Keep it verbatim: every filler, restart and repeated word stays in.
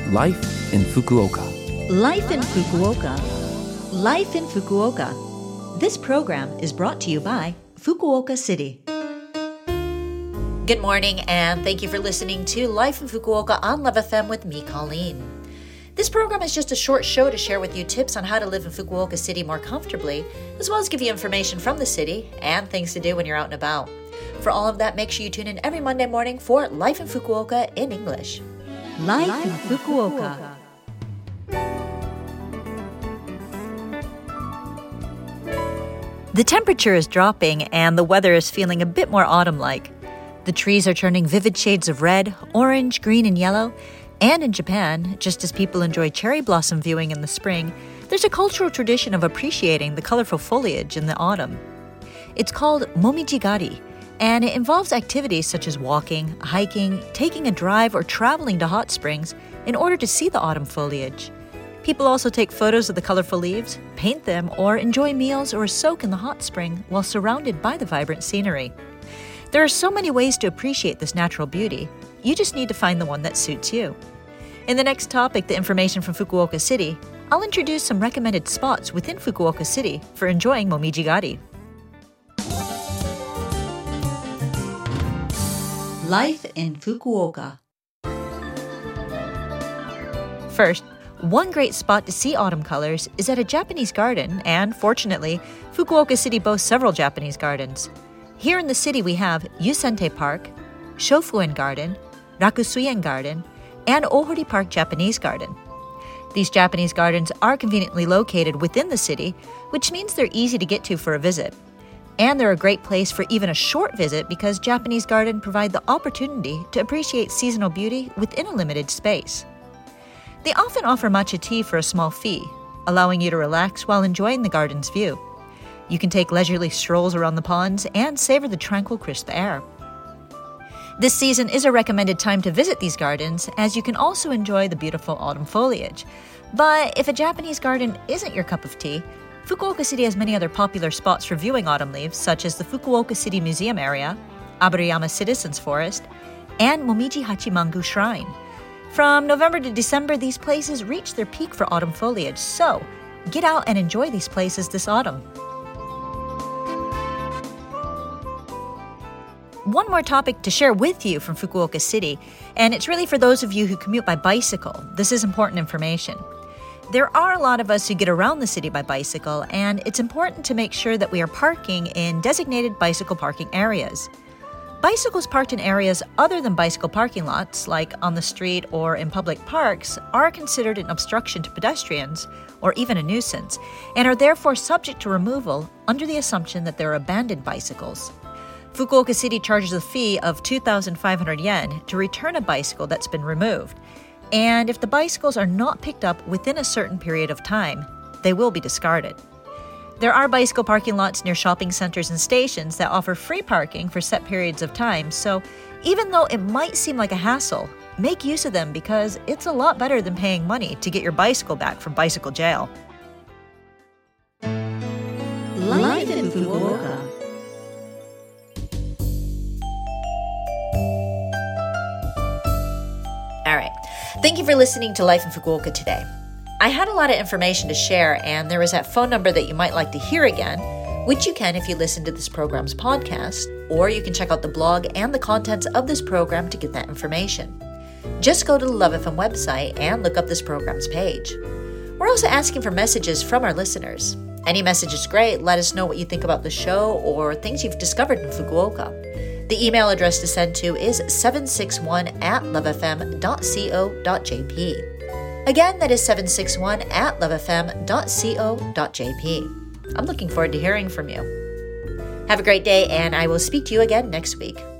Life in Fukuoka. Life in Fukuoka. Life in Fukuoka. This program is brought to you by Fukuoka City. Good morning, and thank you for listening to Life in Fukuoka on Love F M with me, Colleen. This program is just a short show to share with you tips on how to live in Fukuoka City more comfortably, as well as give you information from the city and things to do when you're out and about. For all of that, make sure you tune in every Monday morning for Life in Fukuoka in English. Life, Life in Fukuoka. The temperature is dropping and the weather is feeling a bit more autumn-like. The trees are turning vivid shades of red, orange, green, and yellow. And in Japan, just as people enjoy cherry blossom viewing in the spring, there's a cultural tradition of appreciating the colorful foliage in the autumn. It's called momijigari, and it involves activities such as walking, hiking, taking a drive, or traveling to hot springs in order to see the autumn foliage. People also take photos of the colorful leaves, paint them, or enjoy meals or soak in the hot spring while surrounded by the vibrant scenery. There are so many ways to appreciate this natural beauty. You just need to find the one that suits you. In the next topic, the information from Fukuoka City, I'll introduce some recommended spots within Fukuoka City for enjoying momijigari. Life in Fukuoka. First, one great spot to see autumn colors is at a Japanese garden, and fortunately, Fukuoka City boasts several Japanese gardens. Here in the city we have Yusente Park, Shofuen Garden, Rakusuien Garden, and Ohori Park Japanese Garden. These Japanese gardens are conveniently located within the city, which means they're easy to get to for a visit. And they're a great place for even a short visit because Japanese gardens provide the opportunity to appreciate seasonal beauty within a limited space. They often offer matcha tea for a small fee, allowing you to relax while enjoying the garden's view. You can take leisurely strolls around the ponds and savor the tranquil, crisp air. This season is a recommended time to visit these gardens, as you can also enjoy the beautiful autumn foliage. But if a Japanese garden isn't your cup of tea, Fukuoka City has many other popular spots for viewing autumn leaves, such as the Fukuoka City Museum area, Aburayama Citizens Forest, and Momiji Hachimangu Shrine. From November to December, these places reach their peak for autumn foliage, so get out and enjoy these places this autumn. One more topic to share with you from Fukuoka City, and it's really for those of you who commute by bicycle. This is important information. There are a lot of us who get around the city by bicycle, and it's important to make sure that we are parking in designated bicycle parking areas. Bicycles parked in areas other than bicycle parking lots, like on the street or in public parks, are considered an obstruction to pedestrians or even a nuisance, and are therefore subject to removal under the assumption that they're abandoned bicycles. Fukuoka City charges a fee of two thousand five hundred yen to return a bicycle that's been removed. And if the bicycles are not picked up within a certain period of time, they will be discarded. There are bicycle parking lots near shopping centers and stations that offer free parking for set periods of time, so even though it might seem like a hassle, make use of them because it's a lot better than paying money to get your bicycle back from bicycle jail. Life in Fukuoka. All right. Thank you for listening to Life in Fukuoka today. I had a lot of information to share, and there is that phone number that you might like to hear again, which you can if you listen to this program's podcast, or you can check out the blog and the contents of this program to get that information. Just go to the Love F M website and look up this program's page. We're also asking for messages from our listeners. Any message is great. Let us know what you think about the show or things you've discovered in Fukuoka. The email address to send to is seven six one at lovefm dot co dot jp. Again, that is seven six one at lovefm dot co dot jp. I'm looking forward to hearing from you. Have a great day, and I will speak to you again next week.